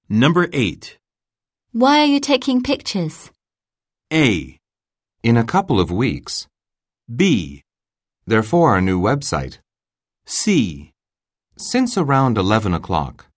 Number 8. Why are you taking pictures? A. In a couple of weeks. B. They're for our new website. C. Since around 11 o'clock.